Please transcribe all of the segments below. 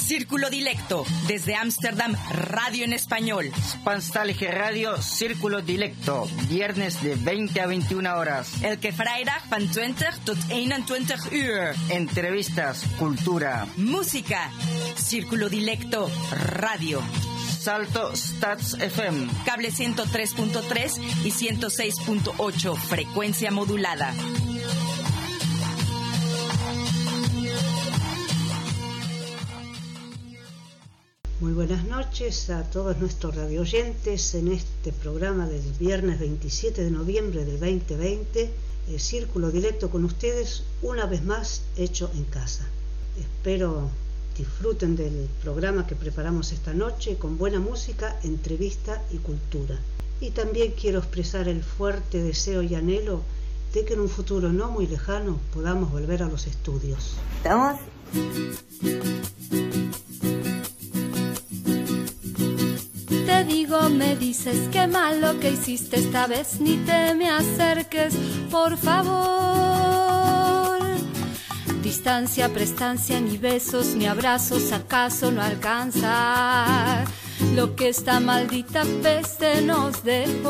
Círculo Dilecto, desde Ámsterdam, radio en español. Spanstallige Radio, Círculo Dilecto, viernes de 20 a 21 horas. Elke vrijdag van 20 tot 21 uur. Entrevistas, cultura, música. Círculo Dilecto, radio. Salto Stats FM. Cable 103.3 y 106.8, frecuencia modulada. Muy buenas noches a todos nuestros radioyentes en este programa del viernes 27 de noviembre del 2020, el Círculo Dilecto con ustedes, una vez más hecho en casa. Espero disfruten del programa que preparamos esta noche con buena música, entrevista y cultura. Y también quiero expresar el fuerte deseo y anhelo de que en un futuro no muy lejano podamos volver a los estudios. ¿Estamos? Te digo, me dices qué mal lo que hiciste esta vez, ni te me acerques, por favor. Distancia, prestancia, ni besos, ni abrazos, acaso no alcanza lo que esta maldita peste nos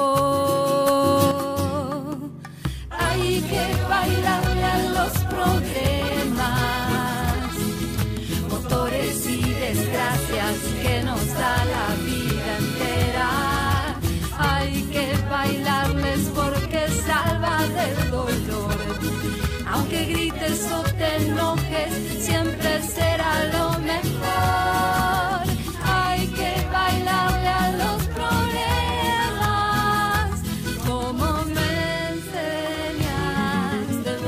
dejó. Hay que bailarle a los problemas, motores y desgracias que nos da la vida entera. Hay que bailarles porque salva del dolor. Aunque grites o te enojes, siempre será lo mejor. Hay que bailarle a los problemas, como me enseñaste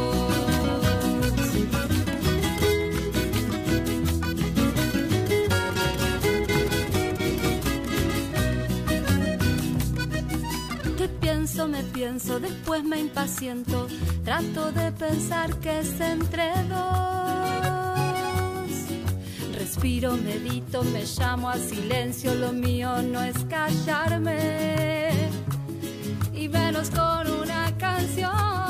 vos. Te pienso, me pienso, después me impaciento. Trato de pensar que es entre dos. Respiro, medito, me llamo a silencio. Lo mío no es callarme, y menos con una canción.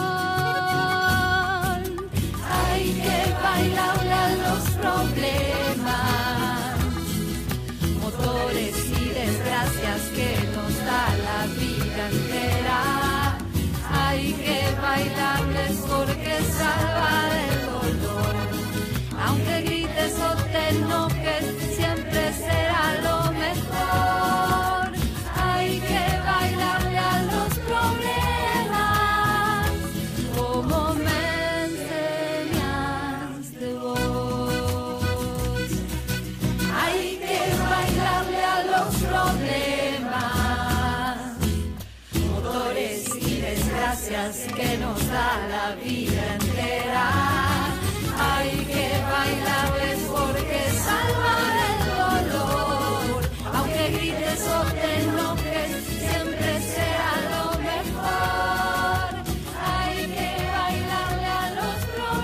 Hay que bailarle a los problemas, motores y desgracias que nos da la vida entera. Hay que bailarles porque salva del dolor. Aunque grites o te enojes, siempre será lo mejor. Hay que bailarle a los problemas, como me enseñaste vos. Hay que bailarle a los problemas, motores y desgracias que nos da la vida entera. Hay que bailarles porque salva del dolor. Aunque grites o te enojes, siempre será lo mejor. Hay que bailarle a los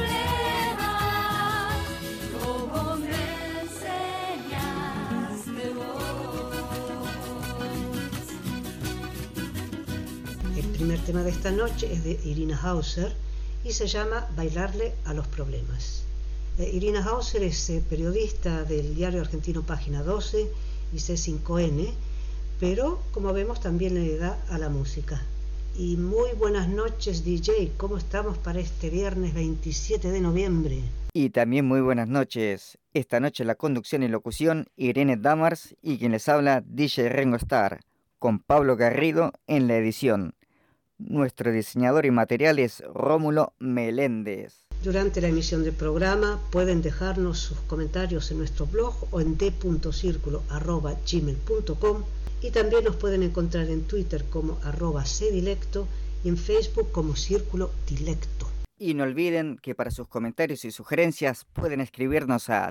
problemas, como me enseñaste vos. El primer tema de esta noche es de Irina Hauser y se llama Bailarle a los problemas. Irina Hauser es periodista del diario argentino Página 12 y C5N, pero como vemos también le da a la música. Y muy buenas noches, DJ, ¿cómo estamos para este viernes 27 de noviembre? Y también muy buenas noches. Esta noche la conducción y locución Irene Damars y quien les habla DJ Rengo Star, con Pablo Garrido en la edición. Nuestro diseñador y material es Rómulo Meléndez. Durante la emisión del programa pueden dejarnos sus comentarios en nuestro blog o en d.circulo@gmail.com, y también nos pueden encontrar en Twitter como @cdilecto y en Facebook como Círculo Dilecto. Y no olviden que para sus comentarios y sugerencias pueden escribirnos a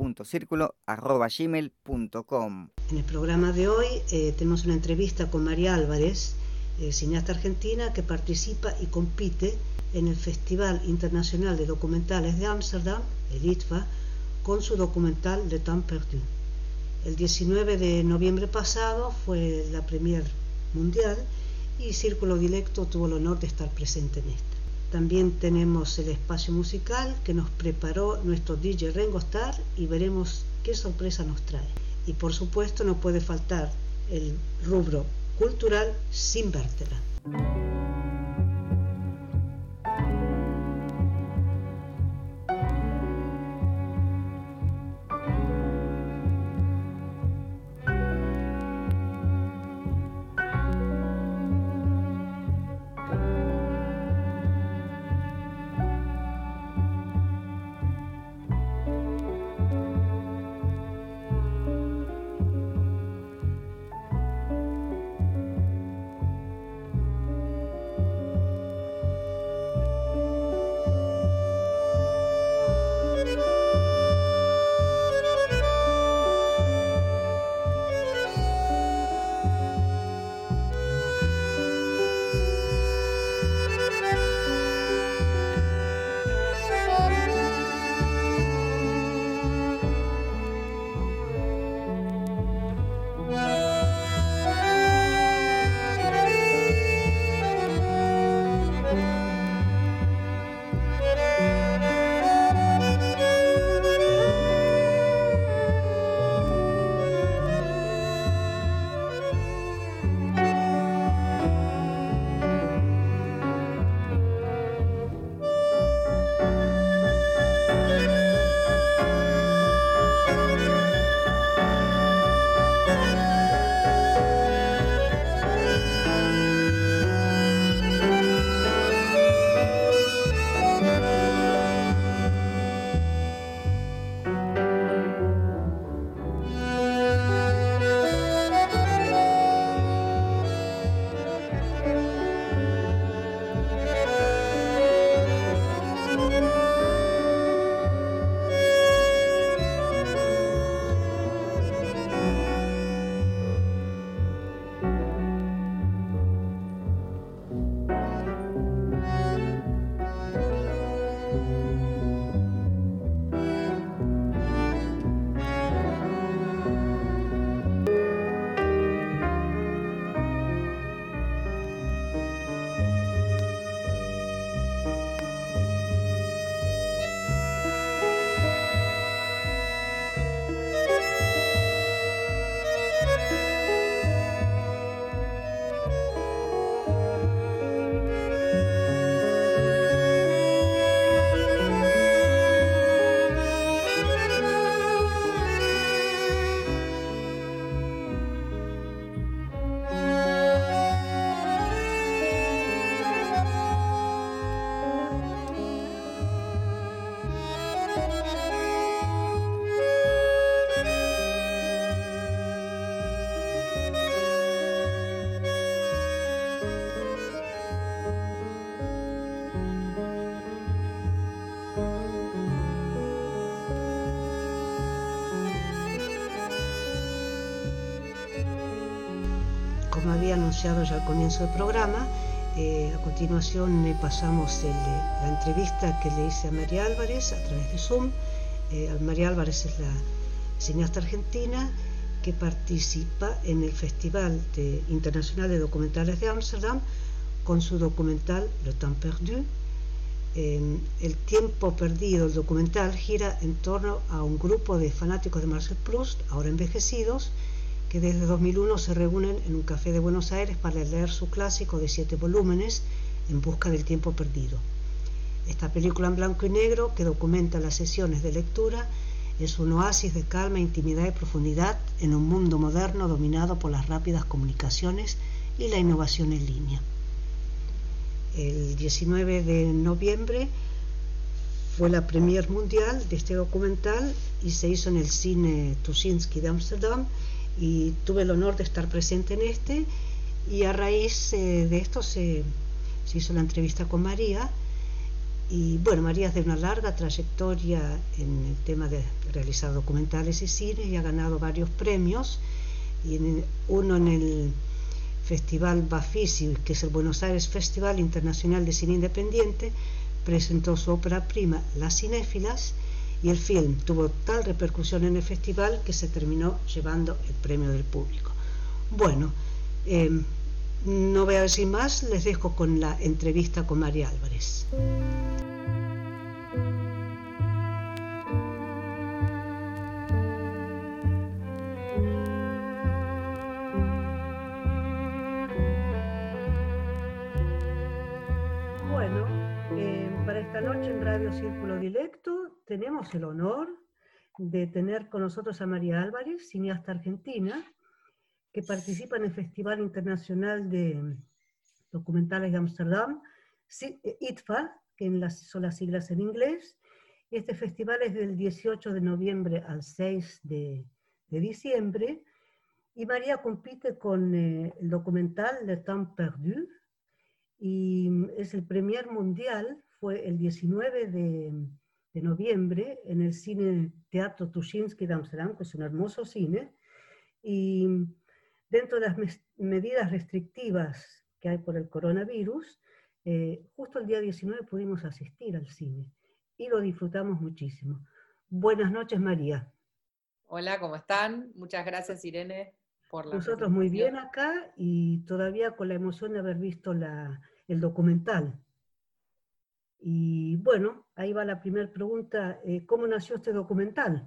d.circulo@gmail.com. En el programa de hoy tenemos una entrevista con María Álvarez, cineasta argentina que participa y compite en el Festival Internacional de Documentales de Ámsterdam, el ITVA, con su documental Le Temps Perdu. El 19 de noviembre pasado fue la premier mundial y Círculo Dilecto tuvo el honor de estar presente en esta. También tenemos el espacio musical que nos preparó nuestro DJ Ringo Starr y veremos qué sorpresa nos trae. Y por supuesto no puede faltar el rubro cultural sin vértebra. Como había anunciado ya al comienzo del programa, a continuación le pasamos la entrevista que le hice a María Álvarez a través de Zoom. María Álvarez es la cineasta argentina que participa en el Festival Internacional de Documentales de Ámsterdam con su documental Le Temps Perdu. El tiempo perdido, el documental, gira en torno a un grupo de fanáticos de Marcel Proust, ahora envejecidos, que desde 2001 se reúnen en un café de Buenos Aires para leer su clásico de 7 volúmenes, En busca del tiempo perdido. Esta película en blanco y negro, que documenta las sesiones de lectura, es un oasis de calma, intimidad y profundidad en un mundo moderno dominado por las rápidas comunicaciones y la innovación en línea. El 19 de noviembre fue la premier mundial de este documental y se hizo en el cine Tuschinski de Ámsterdam, y tuve el honor de estar presente en este, y a raíz de esto se hizo la entrevista con María. Y bueno, María es de una larga trayectoria en el tema de realizar documentales y cine, y ha ganado varios premios, y uno en el Festival Bafisi, que es el Buenos Aires Festival Internacional de Cine Independiente, presentó su ópera prima Las Cinéfilas, y el film tuvo tal repercusión en el festival que se terminó llevando el premio del público. Bueno, No voy a decir más, les dejo con la entrevista con María Álvarez. Bueno, para esta noche en Radio Círculo Dilecto tenemos el honor de tener con nosotros a María Álvarez, cineasta argentina, que participa en el Festival Internacional de Documentales de Ámsterdam, ITFA, que son las siglas en inglés. Este festival es del 18 de noviembre al 6 de diciembre, y María compite con el documental Le Temps Perdu, y es el premier mundial, fue el 19 de noviembre en el cine Teatro Tuschinski de Ámsterdam, que es un hermoso cine, y dentro de las medidas restrictivas que hay por el coronavirus, justo el día 19 pudimos asistir al cine y lo disfrutamos muchísimo. Buenas noches, María. Hola, ¿cómo están? Muchas gracias, Irene, por la Nosotros muy bien acá y todavía con la emoción de haber visto el documental. Y bueno, ahí va la primera pregunta. ¿Cómo nació este documental?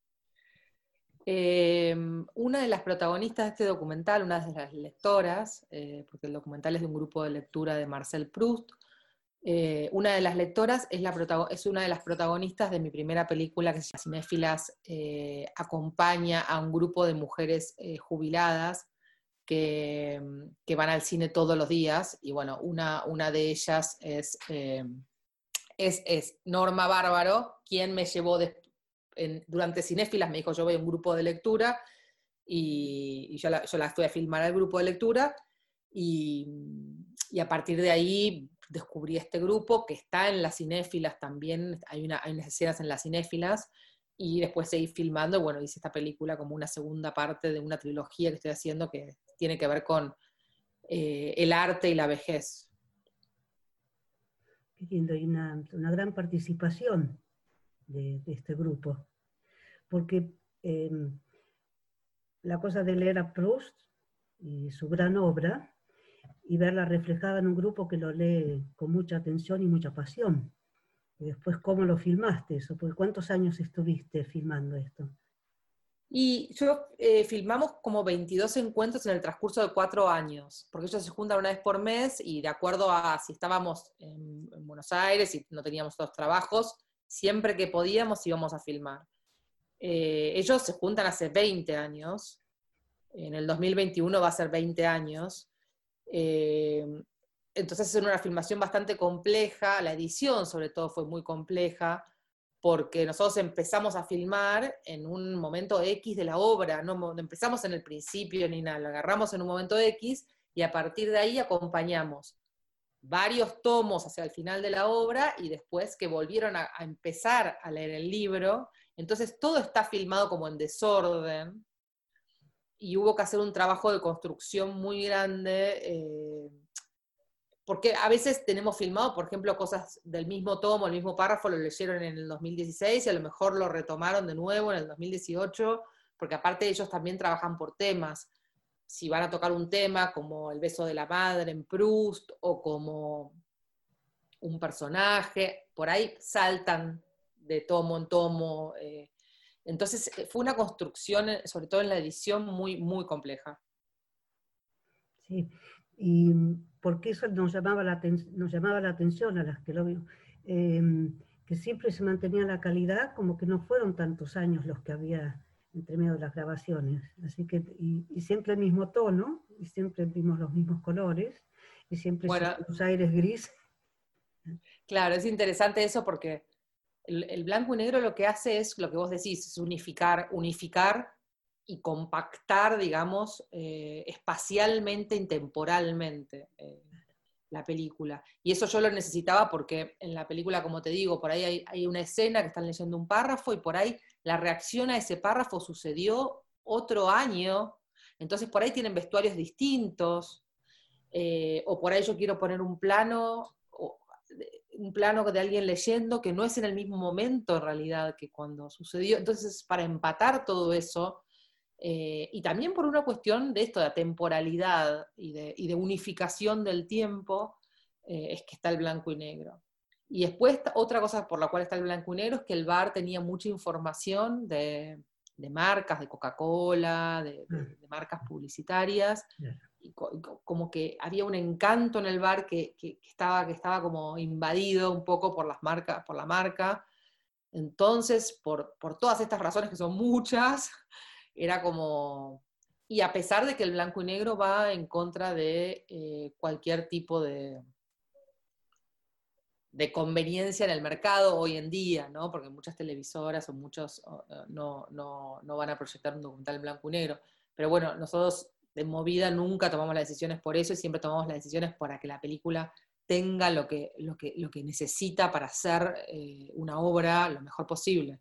Una de las protagonistas de este documental, una de las lectoras, porque el documental es de un grupo de lectura de Marcel Proust, una de las lectoras es una de las protagonistas de mi primera película, que se llama Cinéfilas, acompaña a un grupo de mujeres jubiladas que van al cine todos los días, y bueno, una de ellas es Norma Bárbaro, quien me llevó durante Cinéfilas, me dijo, yo voy a un grupo de lectura, y yo la fui a filmar al grupo de lectura, y a partir de ahí descubrí este grupo que está en las Cinéfilas también, hay unas escenas en las Cinéfilas, y después seguí filmando, bueno, hice esta película como una segunda parte de una trilogía que estoy haciendo que tiene que ver con el arte y la vejez. Qué lindo, y una gran participación de este grupo, porque la cosa de leer a Proust y su gran obra y verla reflejada en un grupo que lo lee con mucha atención y mucha pasión. Y después, ¿cómo lo filmaste eso? Porque ¿cuántos años estuviste filmando esto? Y yo filmamos como 22 encuentros en el transcurso de 4 años, porque ellos se juntan una vez por mes y de acuerdo a si estábamos en Buenos Aires y no teníamos otros trabajos, siempre que podíamos íbamos a filmar. Ellos se juntan hace 20 años, en el 2021 va a ser 20 años, entonces es una filmación bastante compleja, la edición sobre todo fue muy compleja, porque nosotros empezamos a filmar en un momento X de la obra, no empezamos en el principio ni nada, lo agarramos en un momento X y a partir de ahí acompañamos varios tomos hacia el final de la obra y después que volvieron a empezar a leer el libro, entonces todo está filmado como en desorden y hubo que hacer un trabajo de construcción muy grande, porque a veces tenemos filmado, por ejemplo, cosas del mismo tomo, el mismo párrafo lo leyeron en el 2016 y a lo mejor lo retomaron de nuevo en el 2018, porque aparte ellos también trabajan por temas. Si van a tocar un tema como El beso de la madre en Proust, o como un personaje, por ahí saltan de tomo en tomo. Entonces fue una construcción, sobre todo en la edición, muy, muy compleja. Sí, y porque eso nos llamaba la atención a las que lo vimos, que siempre se mantenía la calidad, como que no fueron tantos años los que había entre medio de las grabaciones, así que, y siempre el mismo tono, y siempre vimos los mismos colores, y siempre los aires gris. Claro, es interesante eso porque el blanco y negro lo que hace es, lo que vos decís, es unificar y compactar, digamos, espacialmente y temporalmente la película. Y eso yo lo necesitaba porque en la película, como te digo, por ahí hay una escena que están leyendo un párrafo y por ahí la reacción a ese párrafo sucedió otro año, entonces por ahí tienen vestuarios distintos, o por ahí yo quiero poner un plano de alguien leyendo que no es en el mismo momento en realidad que cuando sucedió. Entonces, para empatar todo eso, Y también por una cuestión de esto, de temporalidad y de unificación del tiempo, es que está el blanco y negro. Y después, otra cosa por la cual está el blanco y negro es que el bar tenía mucha información de marcas, de Coca-Cola, de marcas publicitarias, y como que había un encanto en el bar que estaba como invadido un poco por la marca. Entonces, por todas estas razones, que son muchas, era como... Y a pesar de que el blanco y negro va en contra de cualquier tipo de conveniencia en el mercado hoy en día, ¿no? Porque muchas televisoras o muchos no van a proyectar un documental en blanco y negro. Pero bueno, nosotros de Movida nunca tomamos las decisiones por eso, y siempre tomamos las decisiones para que la película tenga lo que necesita para hacer una obra lo mejor posible.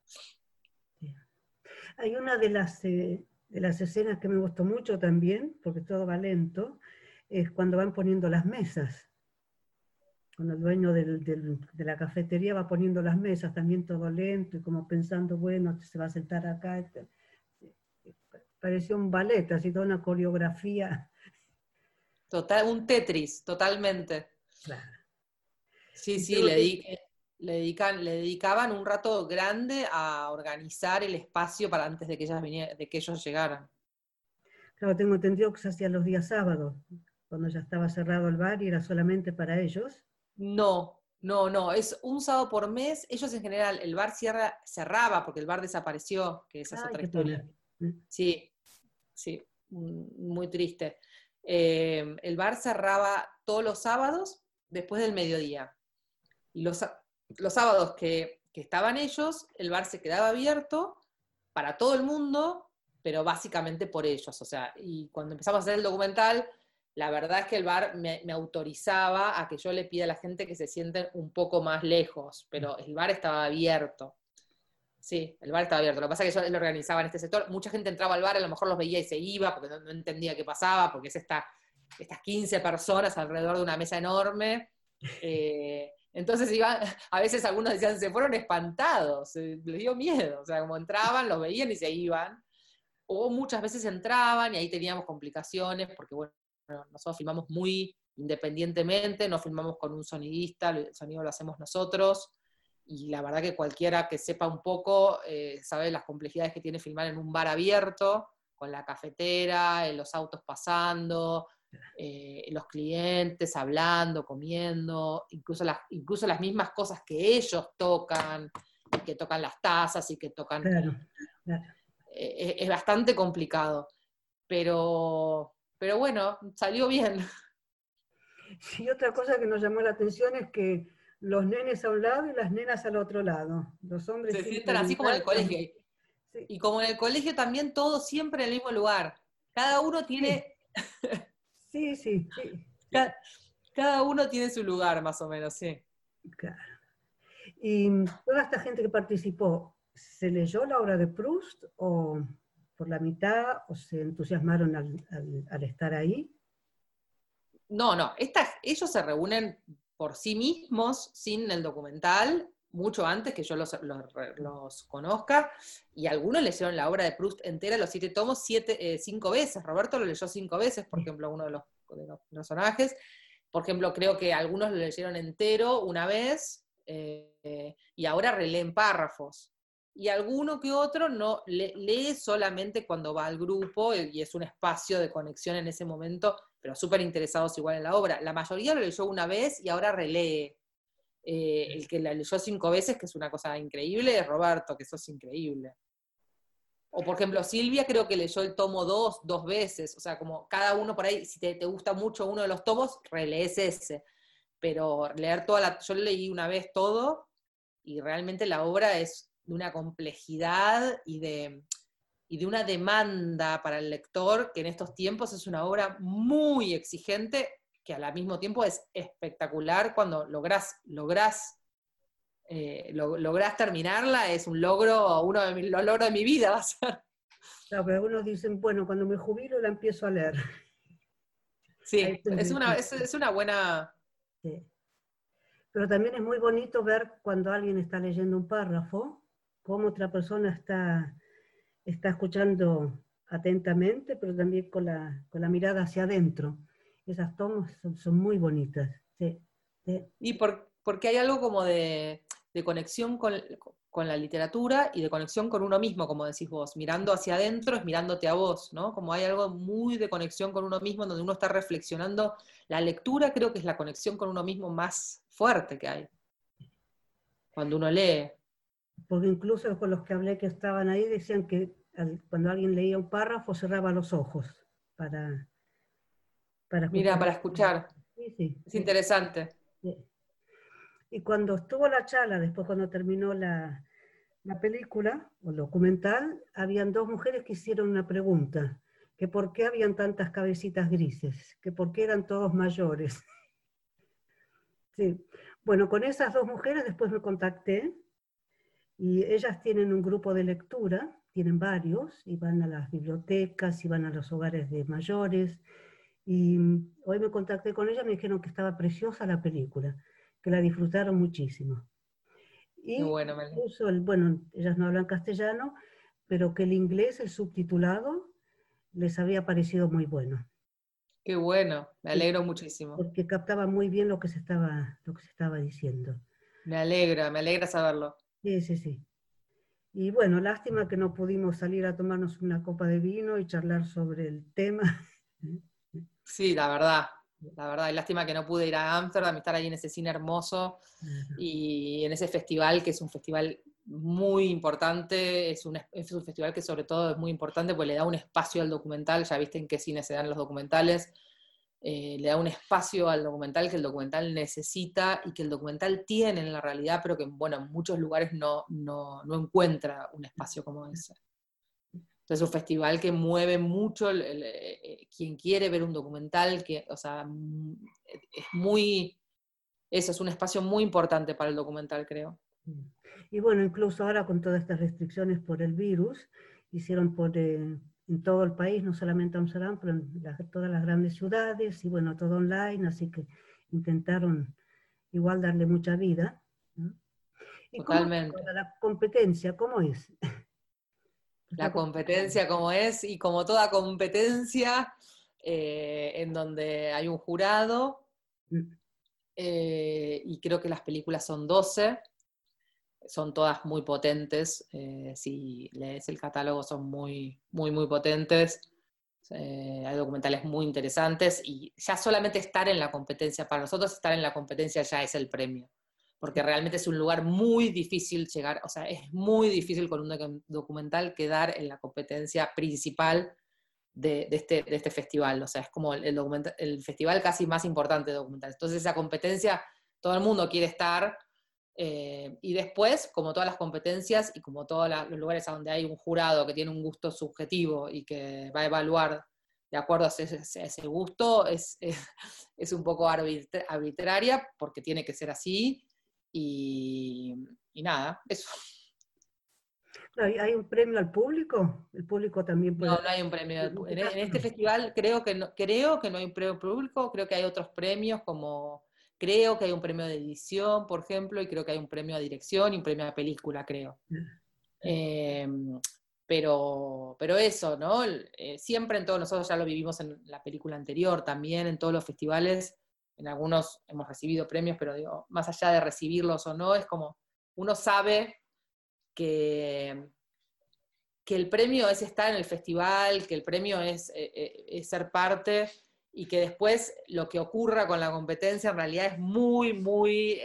Hay una de las escenas que me gustó mucho también, porque todo va lento, es cuando van poniendo las mesas. Cuando el dueño de la cafetería va poniendo las mesas, también todo lento, y como pensando, bueno, se va a sentar acá. Pareció un ballet, así toda una coreografía. Total, un Tetris, totalmente. Claro. Sí, le dedicaban un rato grande a organizar el espacio para antes de que ellos llegaran. Claro, tengo entendido que se hacía los días sábados, cuando ya estaba cerrado el bar y era solamente para ellos. No, es un sábado por mes. Ellos en general, el bar cerraba porque el bar desapareció, que esa es otra historia. Sí, muy triste. El bar cerraba todos los sábados después del mediodía. Y los sábados que estaban ellos, el bar se quedaba abierto para todo el mundo, pero básicamente por ellos. O sea, y cuando empezamos a hacer el documental, la verdad es que el bar me autorizaba a que yo le pida a la gente que se sienten un poco más lejos, pero el bar estaba abierto. Sí, el bar estaba abierto. Lo que pasa es que yo lo organizaba en este sector. Mucha gente entraba al bar, a lo mejor los veía y se iba, porque no entendía qué pasaba, porque es estas 15 personas alrededor de una mesa enorme. Entonces a veces algunos decían, se fueron espantados, les dio miedo. O sea, como entraban, los veían y se iban. O muchas veces entraban y ahí teníamos complicaciones, porque bueno, nosotros filmamos muy independientemente, no filmamos con un sonidista, el sonido lo hacemos nosotros, y la verdad que cualquiera que sepa un poco sabe las complejidades que tiene filmar en un bar abierto, con la cafetera, los autos pasando, los clientes hablando, comiendo, incluso las mismas cosas que ellos tocan, que tocan las tazas y que tocan... Claro. Es bastante complicado, pero bueno, salió bien. Y otra cosa que nos llamó la atención es que los nenes a un lado y las nenas al otro lado. Los hombres se sientan así como en el colegio. Sí. Y como en el colegio también, todos siempre en el mismo lugar. Cada uno tiene... Sí. Cada uno tiene su lugar, más o menos, sí. Claro. Y toda esta gente que participó, ¿se leyó la obra de Proust o por la mitad, o se entusiasmaron al estar ahí? No, ellos se reúnen por sí mismos, sin el documental, mucho antes que yo los conozca, y algunos leyeron la obra de Proust entera, los 7 tomos, 5 veces. Roberto lo leyó 5 veces, por ejemplo, uno de los personajes. Por ejemplo, creo que algunos lo leyeron entero una vez, y ahora releen párrafos. Y alguno que otro no lee solamente cuando va al grupo, y es un espacio de conexión en ese momento, pero súper interesados igual en la obra. La mayoría lo leyó una vez y ahora relee. El que la leyó 5 veces, que es una cosa increíble, es Roberto, que eso es increíble. O por ejemplo, Silvia creo que leyó el tomo 2 veces, o sea, como cada uno por ahí, si te gusta mucho uno de los tomos, relees ese. Pero leer yo leí una vez todo, y realmente la obra es de una complejidad y de una demanda para el lector, que en estos tiempos es una obra muy exigente, que al mismo tiempo es espectacular cuando lográs terminarla. Es un logro, uno de los logros de mi vida va a ser. Claro, pero algunos dicen, bueno, cuando me jubilo la empiezo a leer. Sí, es una buena... Sí. Pero también es muy bonito ver cuando alguien está leyendo un párrafo, cómo otra persona está está escuchando atentamente, pero también con la mirada hacia adentro. Esas tomas son muy bonitas. Sí, sí. Y porque hay algo como de conexión con la literatura y de conexión con uno mismo, como decís vos. Mirando hacia adentro es mirándote a vos, ¿no? Como hay algo muy de conexión con uno mismo, donde uno está reflexionando. La lectura creo que es la conexión con uno mismo más fuerte que hay, cuando uno lee. Porque incluso con los que hablé que estaban ahí decían que cuando alguien leía un párrafo cerraba los ojos para escuchar. Mira, para escuchar. Sí, sí, es sí, interesante. sí. Y cuando estuvo la charla, después cuando terminó la película o el documental, habían dos mujeres que hicieron una pregunta, que por qué habían tantas cabecitas grises, que por qué eran todos mayores. Sí. Bueno, con esas dos mujeres después me contacté, y ellas tienen un grupo de lectura, tienen varios, y van a las bibliotecas, y van a los hogares de mayores, y hoy me contacté con ellas, me dijeron que estaba preciosa la película, que la disfrutaron muchísimo. Y Qué bueno, incluso, bueno, ellas no hablan castellano, pero que el inglés, el subtitulado, les había parecido muy bueno. Qué bueno, me alegro muchísimo. Porque captaba muy bien lo que se estaba diciendo. Me alegra saberlo. Sí, sí, sí. Y bueno, lástima que no pudimos salir a tomarnos una copa de vino y charlar sobre el tema. Sí, la verdad, y lástima que no pude ir a Ámsterdam y estar ahí en ese cine hermoso y en ese festival, que es un festival muy importante, es un festival que sobre todo es muy importante porque le da un espacio al documental. Ya viste en qué cine se dan los documentales, le da un espacio al documental que el documental necesita y que el documental tiene en la realidad, pero que bueno, en muchos lugares no encuentra un espacio como ese. Entonces es un festival que mueve mucho quien quiere ver un documental, o sea, es muy, eso es un espacio muy importante para el documental, creo. Y bueno, incluso ahora con todas estas restricciones por el virus, hicieron en todo el país, no solamente en Amsterdam, pero en todas las grandes ciudades, y bueno, todo online, así que intentaron igual darle mucha vida, ¿no? ¿Y totalmente. ¿Cómo es la competencia? ¿Cómo es? La competencia como es, y como toda competencia, en donde hay un jurado, y creo que las películas son 12, son todas muy potentes, si lees el catálogo son muy, muy, muy potentes, hay documentales muy interesantes, y ya solamente estar en la competencia, para nosotros estar en la competencia ya es el premio, porque realmente es un lugar muy difícil llegar, o sea, es muy difícil con un documental quedar en la competencia principal de este festival, o sea, es como el festival casi más importante de documentales. Entonces esa competencia, todo el mundo quiere estar, y después, como todas las competencias y como todos los lugares a donde hay un jurado que tiene un gusto subjetivo y que va a evaluar de acuerdo a ese gusto, es un poco arbitraria, porque tiene que ser así. Y nada, eso. ¿Hay un premio al público? ¿El público también puede...? No, no hay un premio. En este festival creo que no hay un premio público, creo que hay otros premios, como creo que hay un premio de edición, por ejemplo, y creo que hay un premio a dirección y un premio a película, creo. Pero eso, ¿no? Siempre en todos, nosotros ya lo vivimos en la película anterior, también en todos los festivales. En algunos hemos recibido premios, pero digo, más allá de recibirlos o no, es como, uno sabe que el premio es estar en el festival, que el premio es ser parte, y que después lo que ocurra con la competencia en realidad es muy, muy,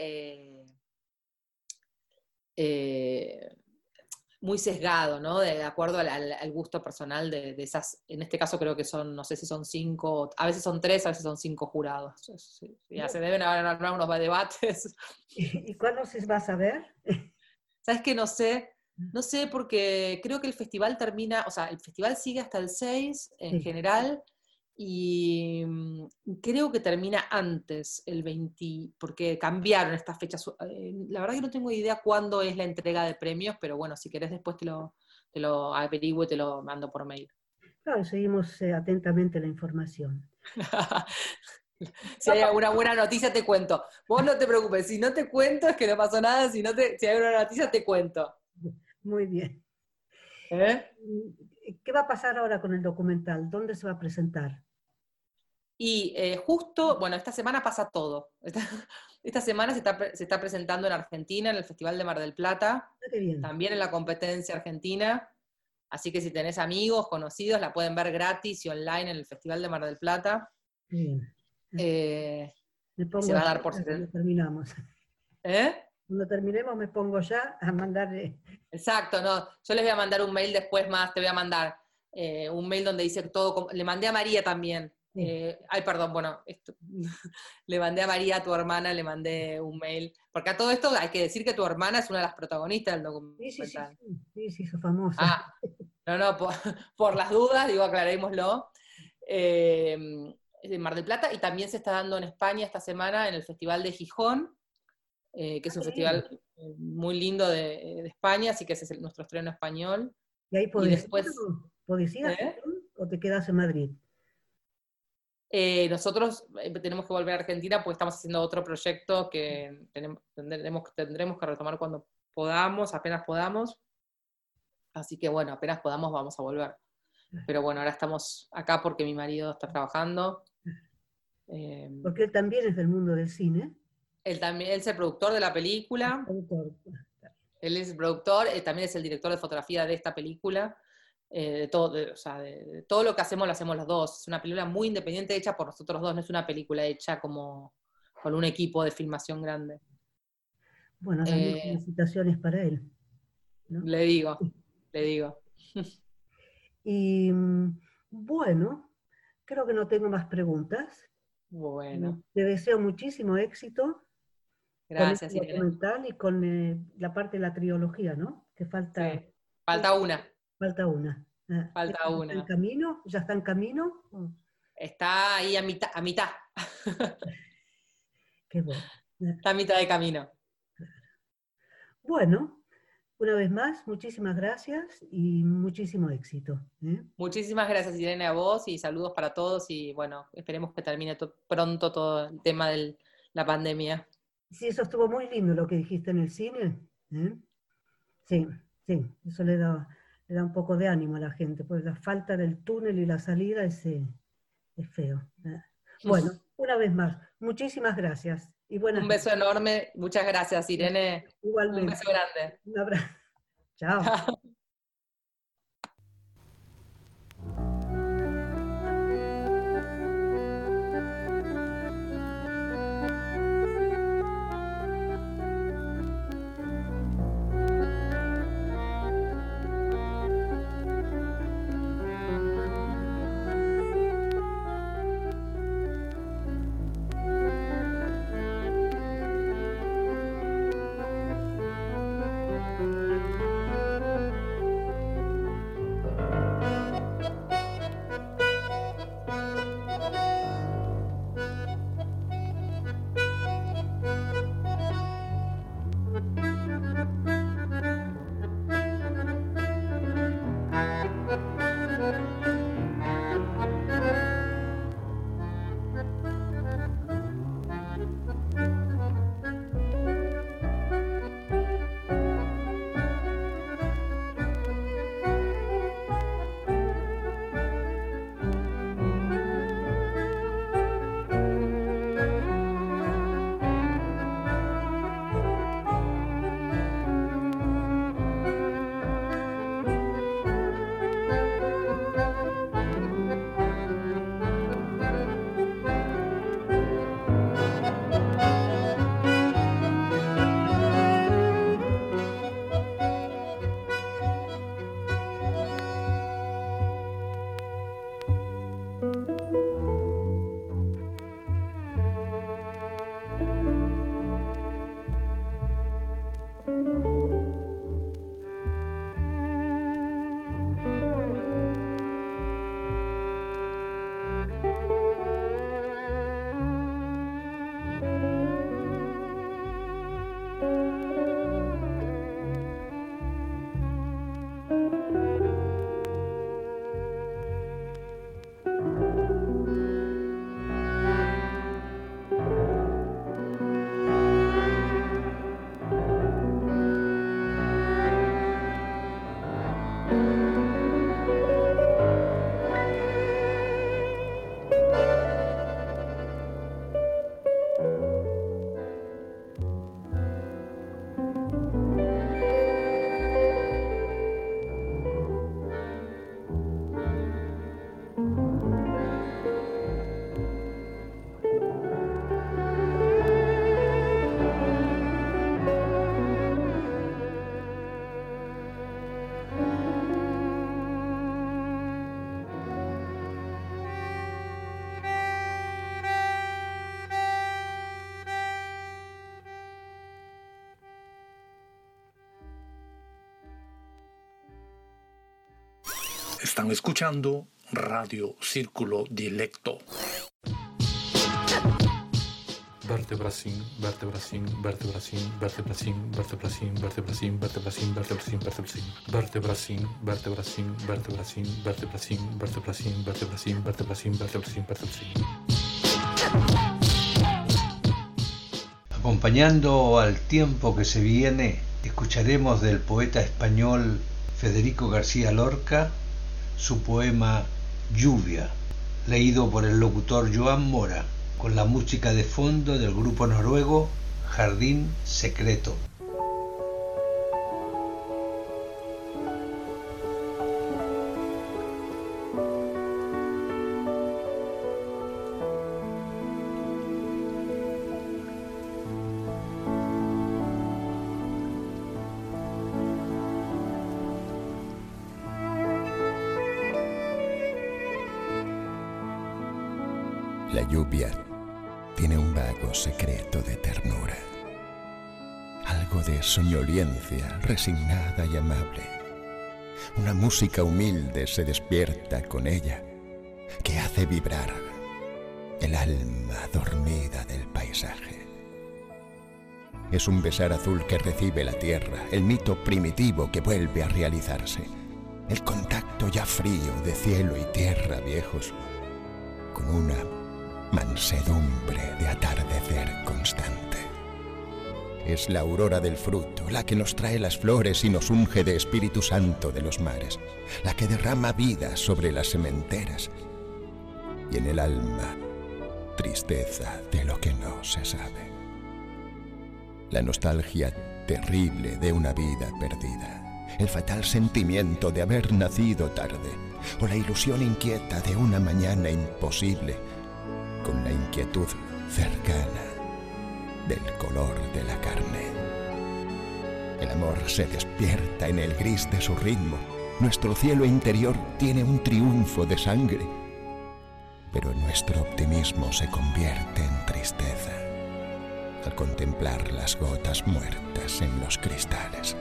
muy sesgado, ¿no? De acuerdo al gusto personal de esas, en este caso creo que son, no sé si son 5, a veces son 3, a veces son 5 jurados. Ya se deben haber unos debates. ¿Y cuándo se va a saber? ¿Sabes qué? No sé, porque creo que el festival termina, o sea, el festival sigue hasta el 6 en general, y creo que termina antes, el 20, porque cambiaron estas fechas. La verdad que no tengo idea cuándo es la entrega de premios, pero bueno, si querés después te lo averiguo y te lo mando por mail. Claro, seguimos atentamente la información. Si hay alguna buena noticia te cuento. Vos no te preocupes, si no te cuento es que no pasó nada, si hay una noticia te cuento. Muy bien. ¿Qué va a pasar ahora con el documental? ¿Dónde se va a presentar? Y justo, bueno, esta semana pasa todo. Esta semana se está presentando en Argentina, en el Festival de Mar del Plata, Qué bien. también en la competencia argentina. Así que si tenés amigos, conocidos, la pueden ver gratis y online en el Festival de Mar del Plata. Bien. Me pongo se va a dar ya por cuando terminamos. ¿Eh? Cuando terminemos me pongo ya a mandarle. Exacto, no. Yo les voy a mandar un mail después más, te voy a mandar un mail donde dice todo. Le mandé a María también. Sí. Perdón, bueno, le mandé a María, a tu hermana, le mandé un mail. Porque a todo esto hay que decir que tu hermana es una de las protagonestas del documental. Sí, sos famosa. Ah, no, por las dudas, digo, aclarémoslo. En Mar del Plata, y también se está dando en España esta semana en el Festival de Gijón, que es un festival muy lindo de España, así que ese es nuestro estreno español. ¿Y ahí podés ir a ¿Eh? Gijón o te quedas en Madrid? Nosotros tenemos que volver a Argentina porque estamos haciendo otro proyecto que tendremos que retomar cuando podamos, apenas podamos. Así que bueno, apenas podamos vamos a volver. Pero bueno, ahora estamos acá porque mi marido está trabajando. Porque él también es del mundo del cine. Él es el productor de la película. Él es el productor, también es el director de fotografía de esta película. De todo lo que hacemos lo hacemos los dos. Es una película muy independiente, hecha por nosotros dos, no es una película hecha como con un equipo de filmación grande. Bueno, también felicitaciones para él, ¿no? Le digo. Y bueno, creo que no tengo más preguntas. Bueno. Te deseo muchísimo éxito. Gracias, con este documental y con la parte de la trilogía, ¿no? Que falta. Sí. Falta una. Falta una. Falta una. ¿Está en camino? ¿Ya está en camino? Está ahí a mitad. Qué bueno. Está a mitad de camino. Bueno, una vez más, muchísimas gracias y muchísimo éxito. Muchísimas gracias, Irene, a vos, y saludos para todos, y bueno, esperemos que termine pronto todo el tema de la pandemia. Sí, eso estuvo muy lindo lo que dijiste en el cine. Sí, eso le da un poco de ánimo a la gente, pues la falta del túnel y la salida es feo. Bueno, una vez más, muchísimas gracias. Y un beso enorme, muchas gracias, Irene. Igualmente. Un beso grande. Un abrazo. Chao. Están escuchando Radio Círculo Dilecto. Vertebracín, vertebracín, vertebracín, vertebracín, vertebracín, vertebracín, vertebracín, vertebracín, vertebracín, vertebracín, vertebracín, vertebracín, vertebracín, vertebracín, vertebracín, vertebracín, vertebracín. Acompañando al tiempo que se viene, escucharemos del poeta español Federico García Lorca su poema Lluvia, leído por el locutor Joan Mora, con la música de fondo del grupo noruego Jardín Secreto. La lluvia tiene un vago secreto de ternura, algo de soñoliencia resignada y amable. Una música humilde se despierta con ella, que hace vibrar el alma dormida del paisaje. Es un besar azul que recibe la tierra, el mito primitivo que vuelve a realizarse, el contacto ya frío de cielo y tierra viejos, con una mansedumbre de atardecer constante. Es la aurora del fruto, la que nos trae las flores y nos unge de Espíritu Santo de los mares, la que derrama vida sobre las sementeras y en el alma tristeza de lo que no se sabe. La nostalgia terrible de una vida perdida, el fatal sentimiento de haber nacido tarde, o la ilusión inquieta de una mañana imposible, con la inquietud cercana del color de la carne. El amor se despierta en el gris de su ritmo. Nuestro cielo interior tiene un triunfo de sangre, pero nuestro optimismo se convierte en tristeza al contemplar las gotas muertas en los cristales.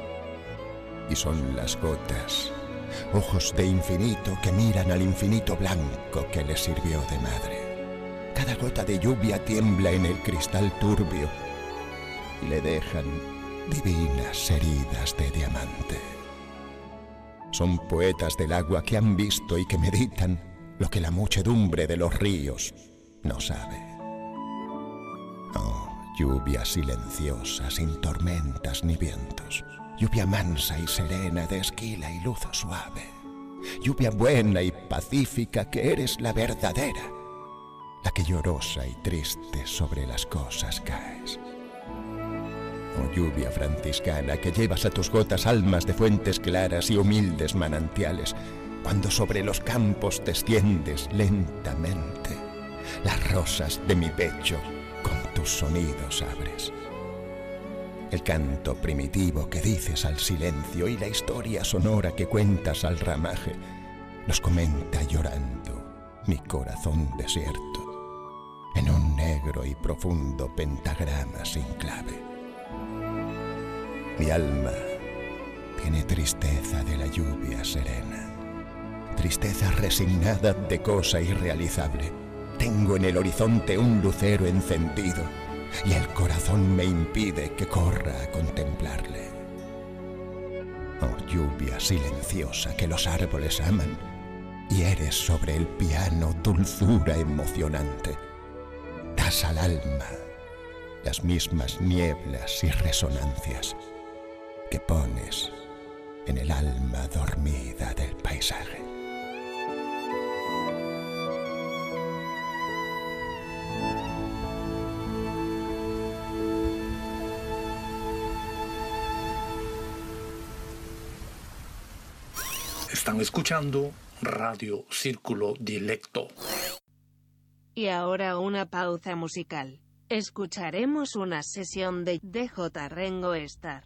Y son las gotas, ojos de infinito que miran al infinito blanco que les sirvió de madre. Cada gota de lluvia tiembla en el cristal turbio y le dejan divinas heridas de diamante. Son poetas del agua que han visto y que meditan lo que la muchedumbre de los ríos no sabe. Oh, lluvia silenciosa, sin tormentas ni vientos. Lluvia mansa y serena de esquila y luz suave. Lluvia buena y pacífica que eres la verdadera, la que llorosa y triste sobre las cosas caes. Oh lluvia franciscana que llevas a tus gotas almas de fuentes claras y humildes manantiales, cuando sobre los campos te extiendes lentamente, las rosas de mi pecho con tus sonidos abres. El canto primitivo que dices al silencio y la historia sonora que cuentas al ramaje, los comenta llorando mi corazón desierto, en un negro y profundo pentagrama sin clave. Mi alma tiene tristeza de la lluvia serena, tristeza resignada de cosa irrealizable. Tengo en el horizonte un lucero encendido y el corazón me impide que corra a contemplarle. Oh lluvia silenciosa que los árboles aman, y eres sobre el piano dulzura emocionante. Das al alma las mismas nieblas y resonancias que pones en el alma dormida del paisaje. Están escuchando Radio Círculo Dilecto. Y ahora una pausa musical. Escucharemos una sesión de DJ Rengo Star.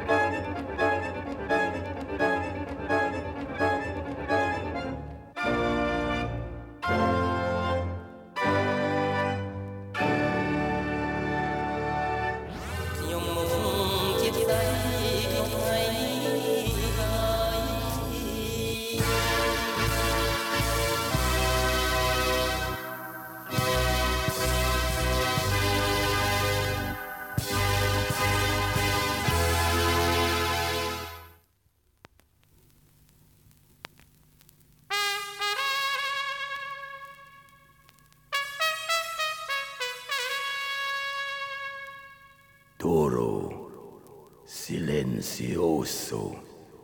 Toro silencioso.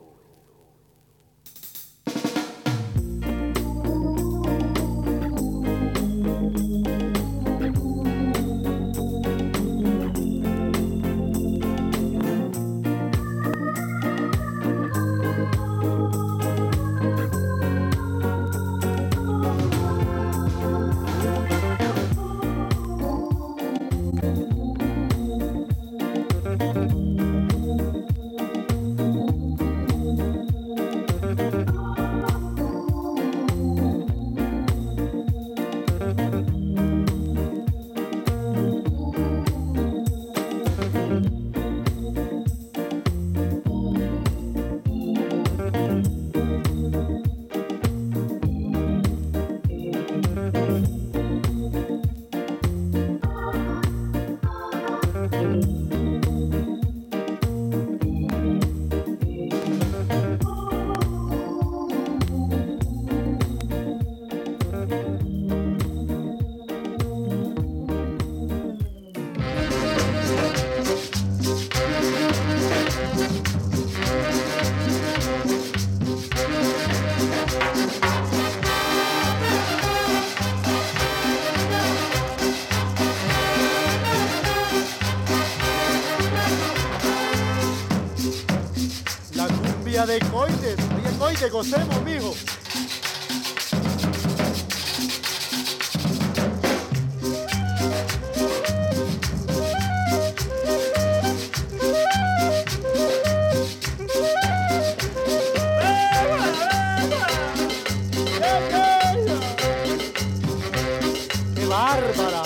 De Coites, oye Coites, gocemos, mijo. ¡Qué bárbara!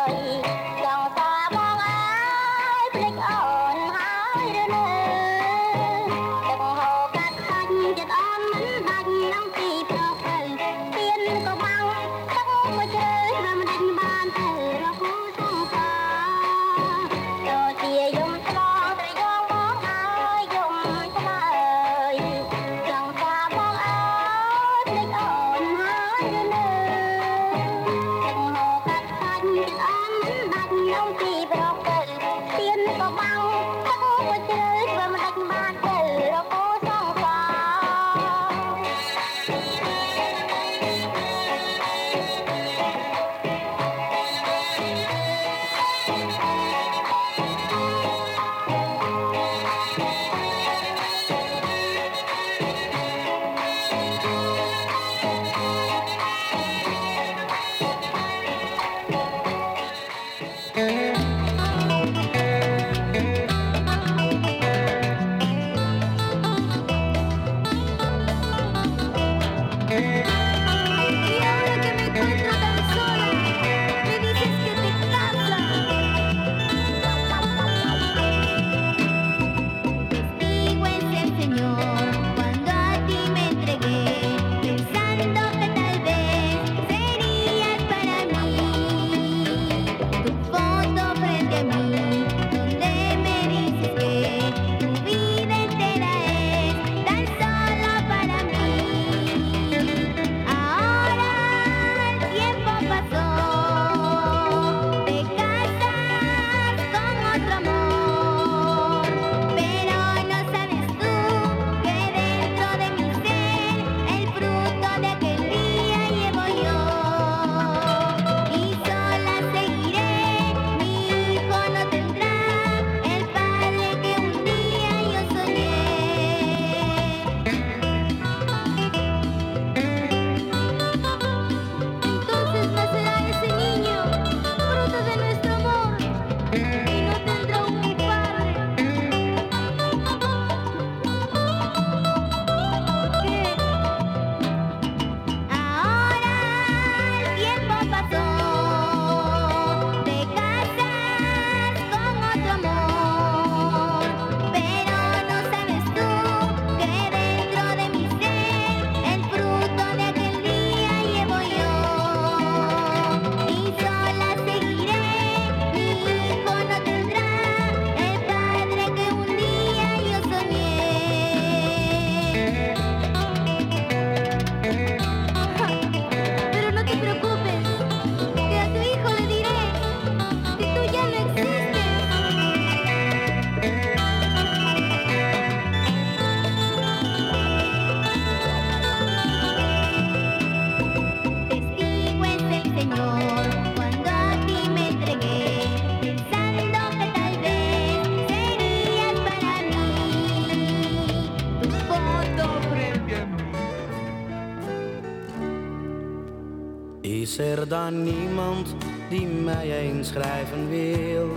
Is er dan niemand die mij eens schrijven wil?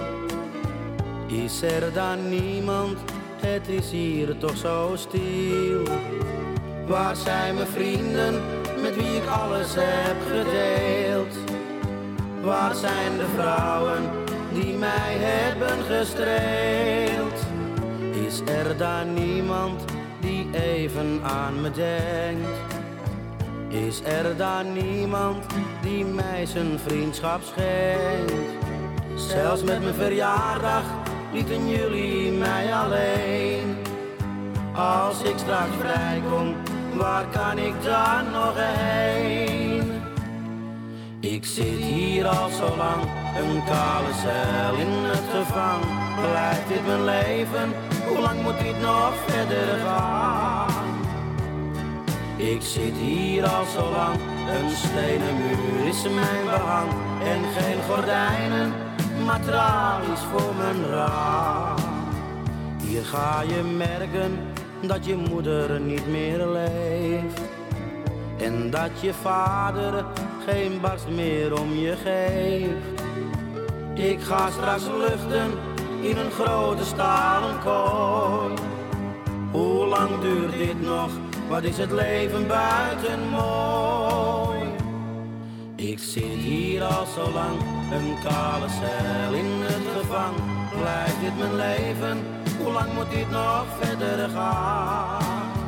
Is er dan niemand, het is hier toch zo stil? Waar zijn mijn vrienden, met wie ik alles heb gedeeld? Waar zijn de vrouwen die mij hebben gestreeld? Is er dan niemand die even aan me denkt? Is er dan niemand die mij zijn vriendschap schenkt? Zelfs met mijn verjaardag lieten jullie mij alleen. Als ik straks vrijkom, waar kan ik dan nog heen? Ik zit hier al zo lang, een kale cel in het gevang. Blijft dit mijn leven? Hoe lang moet dit nog verder gaan? Ik zit hier al zo lang, een stenen muur is mijn behang. En geen gordijnen, maar tralies voor mijn raam. Hier ga je merken dat je moeder niet meer leeft. En dat je vader geen barst meer om je geeft. Ik ga straks luchten in een grote stalen kooi. Hoe lang duurt dit nog? Wat is het leven buiten mooi? Ik zit hier al zo lang, een kale cel in het gevang. Blijft dit mijn leven? Hoe lang moet dit nog verder gaan?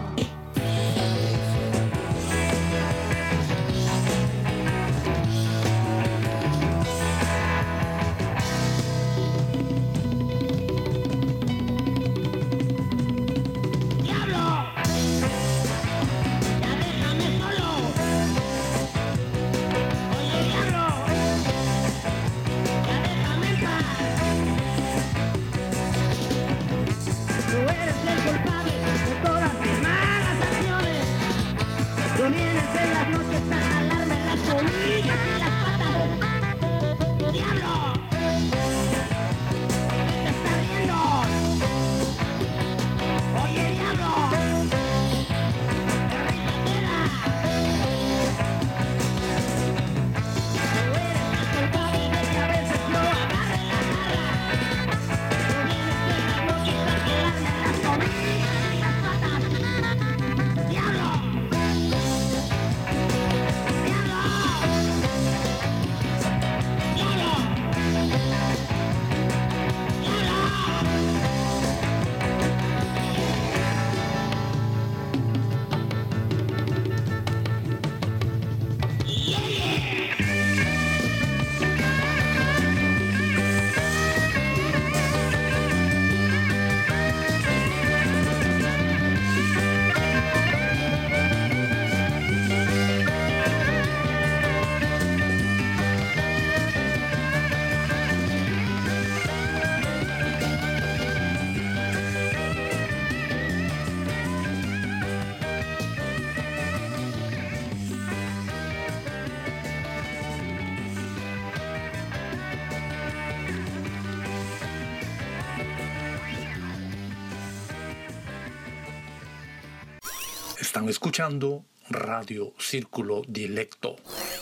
Están escuchando Radio Círculo Dilecto.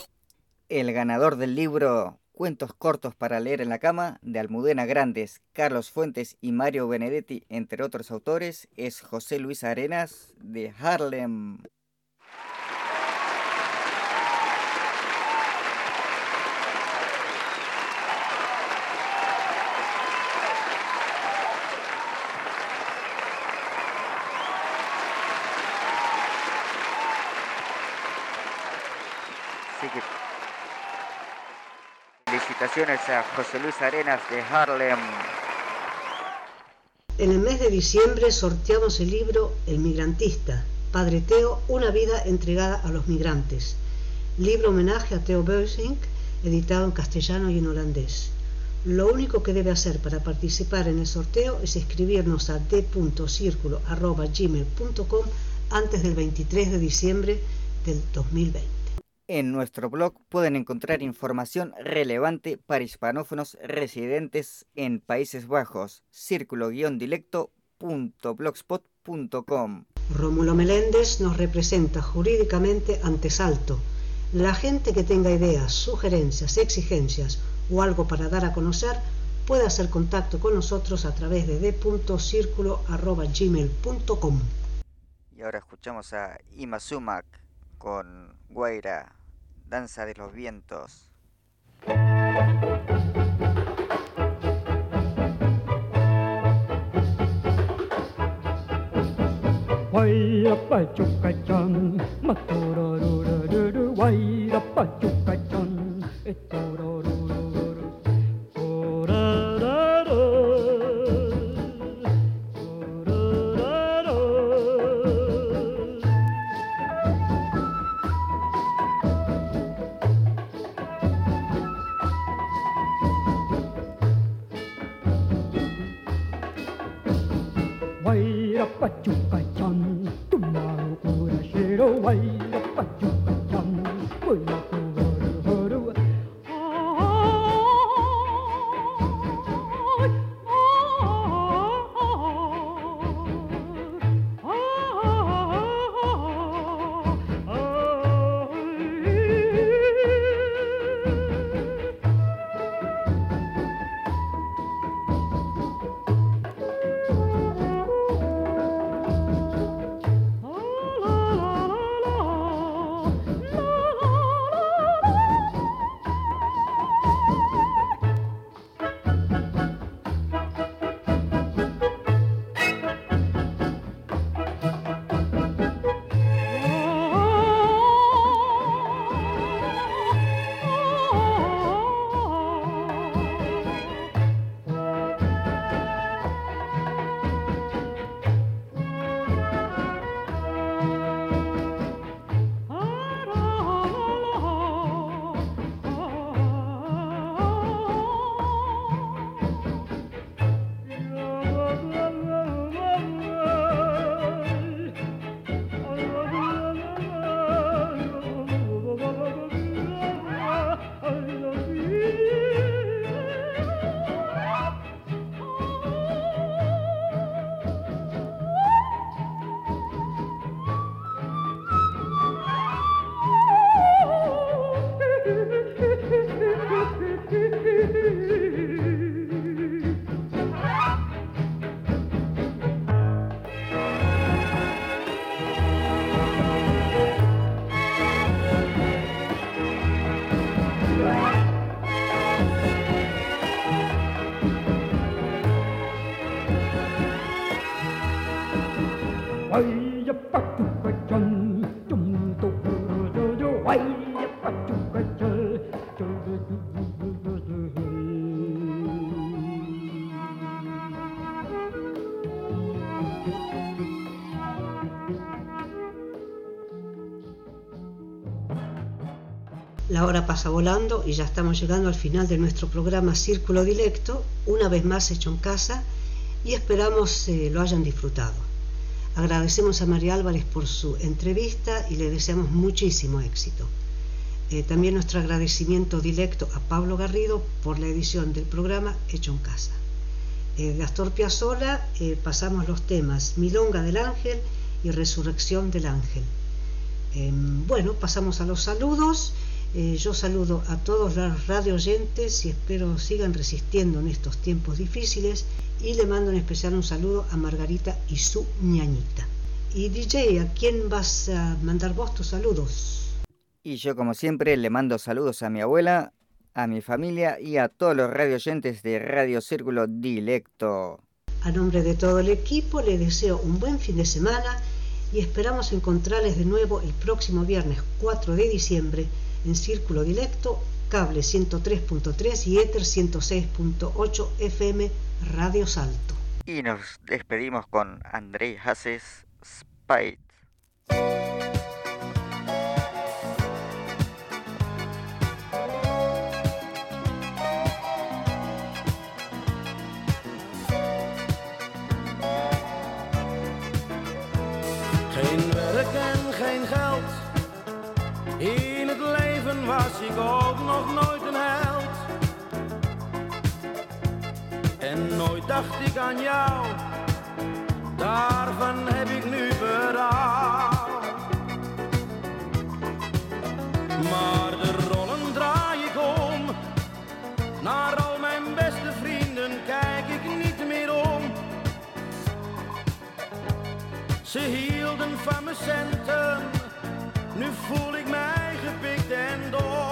El ganador del libro Cuentos cortos para leer en la cama, de Almudena Grandes, Carlos Fuentes y Mario Benedetti, entre otros autores, es José Luis Arenas, de Harlem. Así que felicitaciones a José Luis Arenas de Harlem. En el mes de diciembre sorteamos el libro El Migrantista, Padre Theo, una vida entregada a los migrantes. Libro homenaje a Theo Beusink, editado en castellano y en holandés. Lo único que debe hacer para participar en el sorteo es escribirnos a d.circulo@gmail.com antes del 23 de diciembre del 2020. En nuestro blog pueden encontrar información relevante para hispanófonos residentes en Países Bajos, círculo-dilecto.blogspot.com. Rómulo Meléndez nos representa jurídicamente ante Salto. La gente que tenga ideas, sugerencias, exigencias o algo para dar a conocer puede hacer contacto con nosotros a través de d.circulo@gmail.com. Y ahora escuchamos a Ima Sumac con Guaira, Danza de los Vientos. Guaira pachucachán, matorororororo, guaira pachucachán, etorororororo, orararo, orararo. Guaira pachucachán, tumaru curashero, guaira pachucachán, guaira curashero. La hora pasa volando y ya estamos llegando al final de nuestro programa Círculo Dilecto, una vez más hecho en casa, y esperamos lo hayan disfrutado. Agradecemos a María Álvarez por su entrevista y le deseamos muchísimo éxito. También nuestro agradecimiento directo a Pablo Garrido por la edición del programa hecho en casa. De Astor Piazzolla pasamos los temas Milonga del Ángel y Resurrección del Ángel. Bueno, pasamos a los saludos. Yo saludo a todos los radio oyentes y espero sigan resistiendo en estos tiempos difíciles, y le mando en especial un saludo a Margarita y su ñañita. Y DJ, ¿a quién vas a mandar vos tus saludos? Y yo, como siempre, le mando saludos a mi abuela, a mi familia y a todos los radio oyentes de Radio Círculo Dilecto. A nombre de todo el equipo le deseo un buen fin de semana y esperamos encontrarles de nuevo el próximo viernes 4 de diciembre en Círculo Dilecto, cable 103.3 y éter 106.8 FM Radio Salto. Y nos despedimos con André Hases Spite. Geen werk en geen geld. In het leven was ik ook nog nooit een held. En nooit dacht ik aan jou. Daarvan heb ik nu berouw. Maar de rollen draai ik om. Naar al mijn beste vrienden kijk ik niet meer om. Ze hielden van mijn centen, nu voel ik mij gepikt en dom.